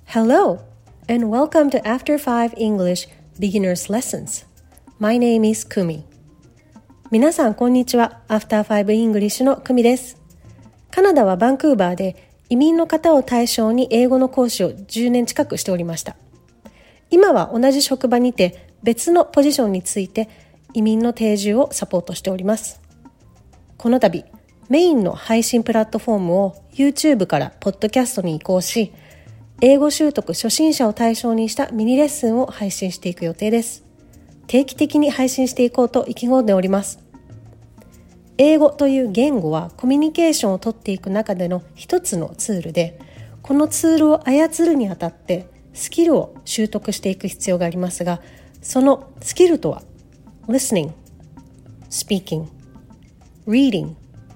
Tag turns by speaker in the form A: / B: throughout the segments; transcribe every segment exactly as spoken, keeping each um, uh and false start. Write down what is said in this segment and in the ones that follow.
A: Hello, and welcome to After Five English Beginner's Lessons. My name is Kumi. 皆さん、こんにちは。After Five English のクミです。カナダはバンクーバーで移民の方を対象に英語の講師をじゅうねん近くしておりました。今は同じ職場にて別のポジションについて移民の定住をサポートしております。この度、メインの配信プラットフォームを YouTube からポッドキャストに移行し、英語習得初心者を対象にしたミニレッスンを配信していく予定です。定期的に配信していこうと意気込んでおります。英語という言語はコミュニケーションをとっていく中での一つのツールで、このツールを操るにあたってスキルを習得していく必要がありますが、そのスキルとは listening, speaking, reading,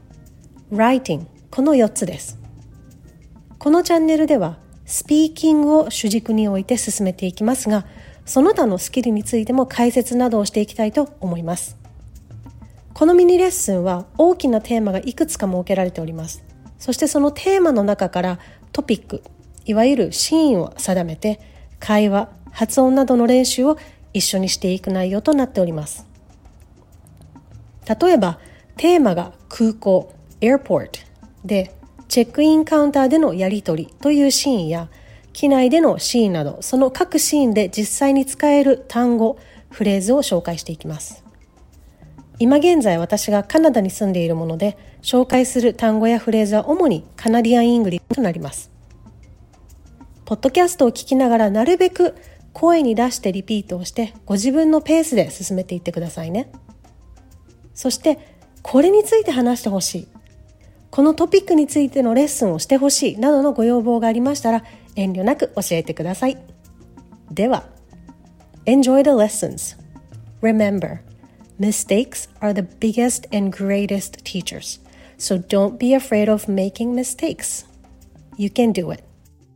A: writing このよっつです。このチャンネルではスピーキングを主軸に置いて進めていきますが、その他のスキルについても解説などをしていきたいと思います。このミニレッスンは大きなテーマがいくつか設けられております。そしてそのテーマの中からトピック、いわゆるシーンを定めて、会話、発音などの練習を一緒にしていく内容となっております。例えば、テーマが空港、airport で、チェックインカウンターでのやり取りというシーンや、機内でのシーンなど、その各シーンで実際に使える単語、フレーズを紹介していきます。今現在私がカナダに住んでいるもので、紹介する単語やフレーズは主にカナディアン・イングリッシュとなります。ポッドキャストを聞きながらなるべく声に出してリピートをして、ご自分のペースで進めていってくださいね。そして、これについて話してほしい。このトピックについてのレッスンをしてほしいなどのご要望がありましたら遠慮なく教えてください。では、Enjoy the lessons. Remember, mistakes are the biggest and greatest teachers. So don't be afraid of making mistakes. You can do it.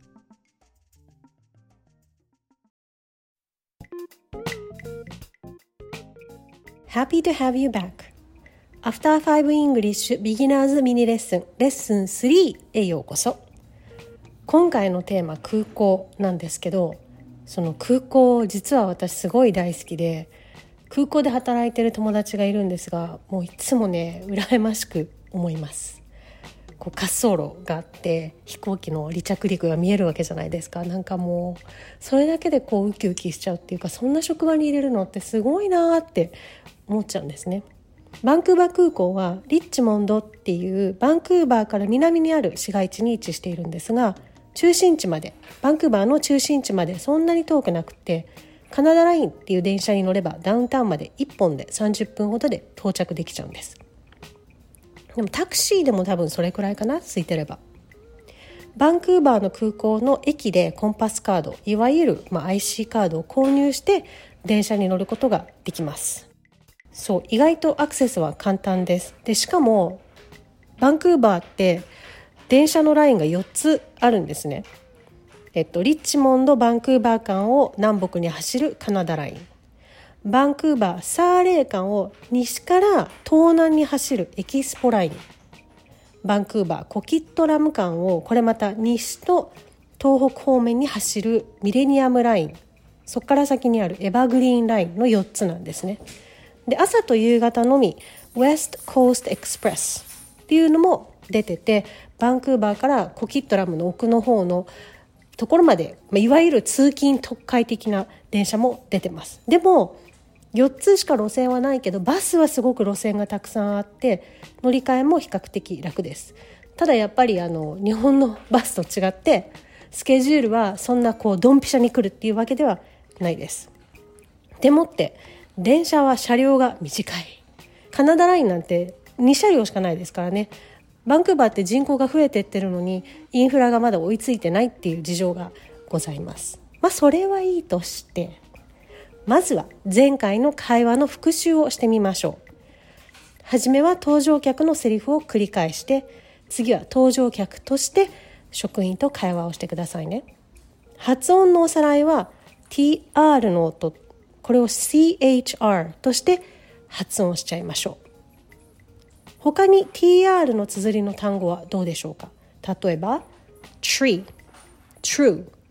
A: Happy to have you back.After Five English Beginners Mini Lesson レッスンスリーへようこそ。今回のテーマ空港なんですけど、その空港実は私すごい大好きで、空港で働いてる友達がいるんですが、もういつもね羨ましく思います。こう滑走路があって飛行機の離着陸が見えるわけじゃないですか。なんかもうそれだけでこうウキウキしちゃうっていうか、そんな職場に入れるのってすごいなって思っちゃうんですね。バンクーバー空港はリッチモンドっていうバンクーバーから南にある市街地に位置しているんですが、中心地までバンクーバーの中心地までそんなに遠くなくて、カナダラインっていう電車に乗ればダウンタウンまでいっぽんでさんじゅっぷんほどで到着できちゃうんです。でもタクシーでも多分それくらいかな、空いてれば。バンクーバーの空港の駅でコンパスカード、いわゆる、まあ、アイシー カードを購入して電車に乗ることができます。そう、意外とアクセスは簡単です。で、しかもバンクーバーって電車のラインがよっつあるんですね。えっとリッチモンドバンクーバー間を南北に走るカナダライン、バンクーバーサーレー間を西から東南に走るエキスポライン、バンクーバーコキットラム間をこれまた西と東北方面に走るミレニアムライン、そこから先にあるエバーグリーンラインのよっつなんですね。で、朝と夕方のみ West Coast Express っていうのも出てて、バンクーバーからコキットラムの奥の方のところまで、まあ、いわゆる通勤特快的な電車も出てます。でもよっつしか路線はないけど、バスはすごく路線がたくさんあって乗り換えも比較的楽です。ただやっぱりあの日本のバスと違ってスケジュールはそんなこうドンピシャに来るっていうわけではないです。でもって電車は車両が短い。カナダラインなんてにしゃりょうしかないですからね。バンクーバーって人口が増えてってるのにインフラがまだ追いついてないっていう事情がございます。まあそれはいいとして、まずは前回の会話の復習をしてみましょう。はじめは搭乗客のセリフを繰り返して、次は搭乗客として職員と会話をしてくださいね。発音のおさらいは ティーアール の音、これを シーエイチアール として発音しちゃいましょう。他に ティーアール の綴りの単語はどうでしょうか。例えば tree, true,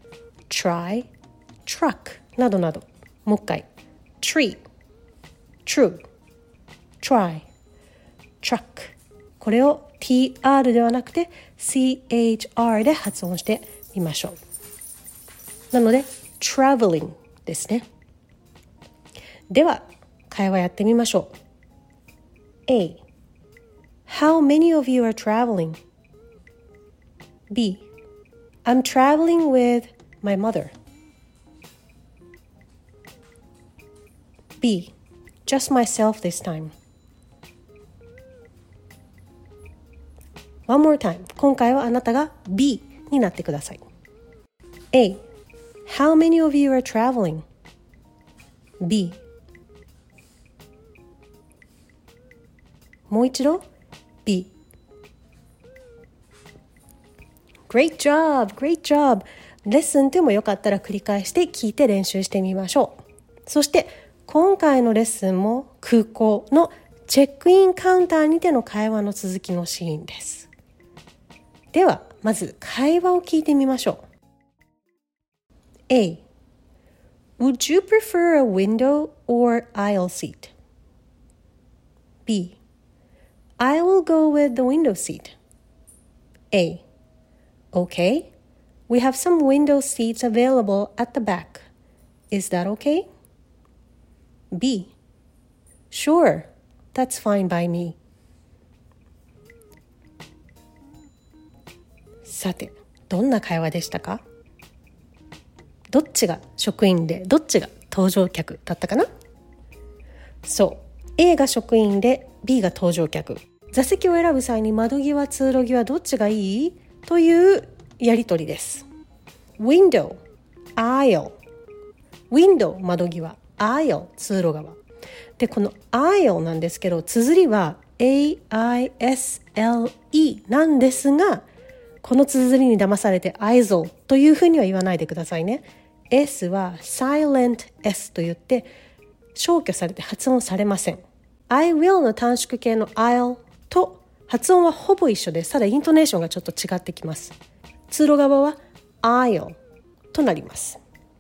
A: try, truck などなど。もう一回 tree, true, try, truck これを ティーアール ではなくて シーエイチアール で発音してみましょう。なので traveling ですね。では会話やってみましょう。 A. How many of you are traveling? B. I'm traveling with my mother. B. Just myself this time. One more time. 今回はあなたが B になってください。A. How many of you are traveling? B. もう一度 B. Great job! Great job! レッスンでもよかったら繰り返して聞いて練習してみましょう。そして今回のレッスンも空港のチェックインカウンターにての会話の続きのシーンです。ではまず会話を聞いてみましょう。A. Would you prefer a window or aisle seat? B. I will go with the window seat. A. Okay. We have some window seats available at the back. Is that okay? B. Sure. That's fine by me. さて、どんな会話でしたか？どっちが職員でどっちが搭乗客だったかな？そう、A が職員で B が搭乗客。座席を選ぶ際に窓際、通路際どっちがいい？というやり取りです。Window, aisle, window 窓際、aisle 通路側。で、この aisle なんですけど、綴りは エーアイエスエルイー なんですが、この綴りに騙されて aisle というふうには言わないでくださいね。S は silent S と言って消去されて発音されません。I will の短縮形の I'll と発音はほぼ一緒です。ただイントネーションがちょっと違ってきます。通路側は I'll となります。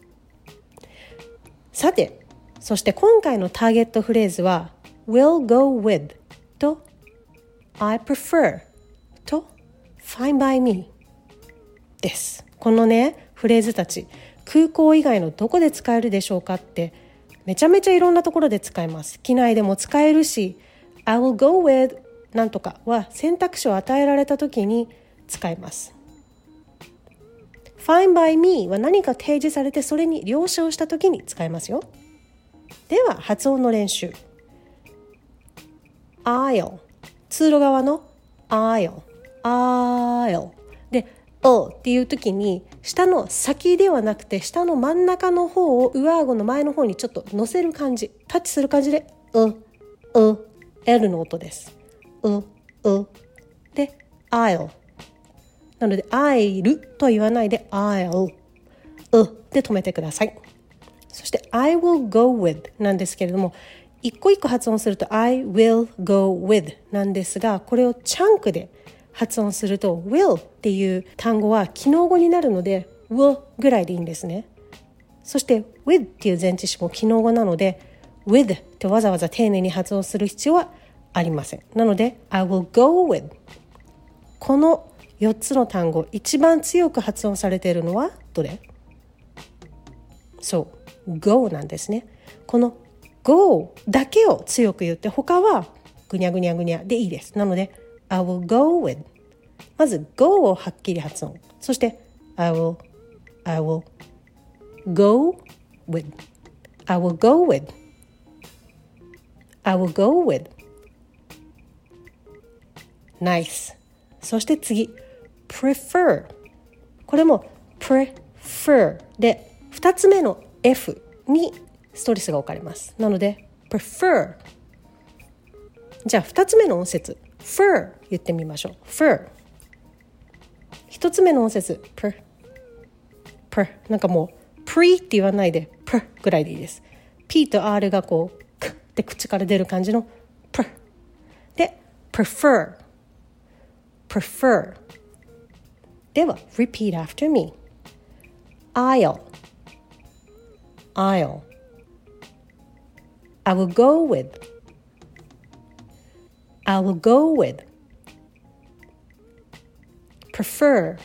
A: さて、そして今回のターゲットフレーズは will go with と I prefer と fine by me です。このね、フレーズたち空港以外のどこで使えるでしょうかってめちゃめちゃいろんなところで使えます。機内でも使えるし I will go with なんとかは選択肢を与えられた時に使えます。Fine by me は何か提示されてそれに了承した時に使えますよ。では発音の練習。 Aisle 通路側の Aisle Aisle で O っていう時に下の先ではなくて下の真ん中の方を上顎の前の方にちょっと乗せる感じ、タッチする感じでうう L の音です。ううで I'll なので I'll と言わないで I'll うで止めてください。そして I will go with なんですけれども一個一個発音すると I will go with なんですが、これをチャンクで発音すると will っていう単語は機能語になるので will ぐらいでいいんですね。そして with っていう前置詞も機能語なので with ってわざわざ丁寧に発音する必要はありません。なので I will go with このよっつの単語一番強く発音されているのはどれ？そう go なんですね。この go だけを強く言って他はぐにゃぐにゃぐにゃでいいです。なのでI will go with まず go をはっきり発音、そして I will I will go with I will go with I will go with Nice。 そして次 prefer これも prefer でふたつめの F にストレスが置かれます。なので prefer じゃあふたつめの音節 fur 言ってみましょう。 fur ひとつめの音節 per per なんかもう pre って言わないで per ぐらいでいいです。 P と R がこうクッって口から出る感じの per で prefer prefer では repeat after me I'll I'll I will go with I will go with prefer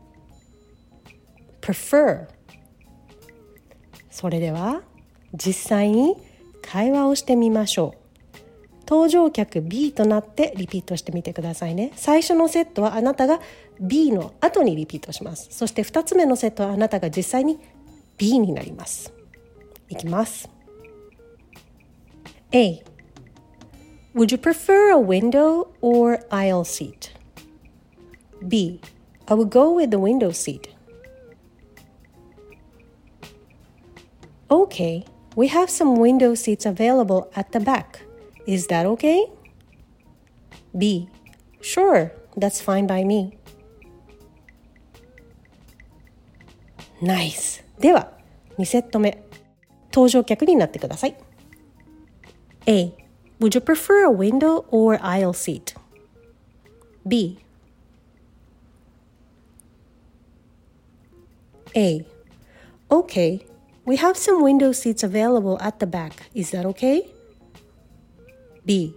A: prefer それでは実際に会話をしてみましょう。登場客 B となってリピートしてみてくださいね。最初のセットはあなたが B の後にリピートします。そしてふたつめのセットはあなたが実際に B になります。いきます。A. Would you prefer a window or aisle seat? B. I would go with the window seat. Okay, we have some window seats available at the back. Is that okay? B. Sure, that's fine by me. Nice. では、にセット目。登場客になってください。A. Would you prefer a window or aisle seat? B. A. Okay, we have some window seats available at the back. Is that okay? B.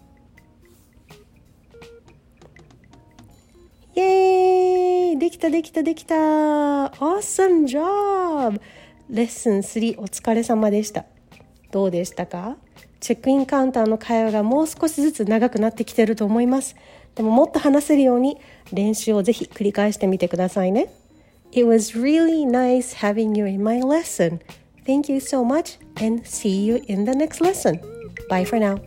A: イエーイ！できたできたできた！ Awesome job! レッスンスリーお疲れ様でした。どうでしたか？チェックインカウンターの会話がもう少しずつ長くなってきてると思います。でももっと話せるように練習をぜひ繰り返してみてくださいね。It was really nice having you in my lesson. Thank you so much and see you in the next lesson. Bye for now.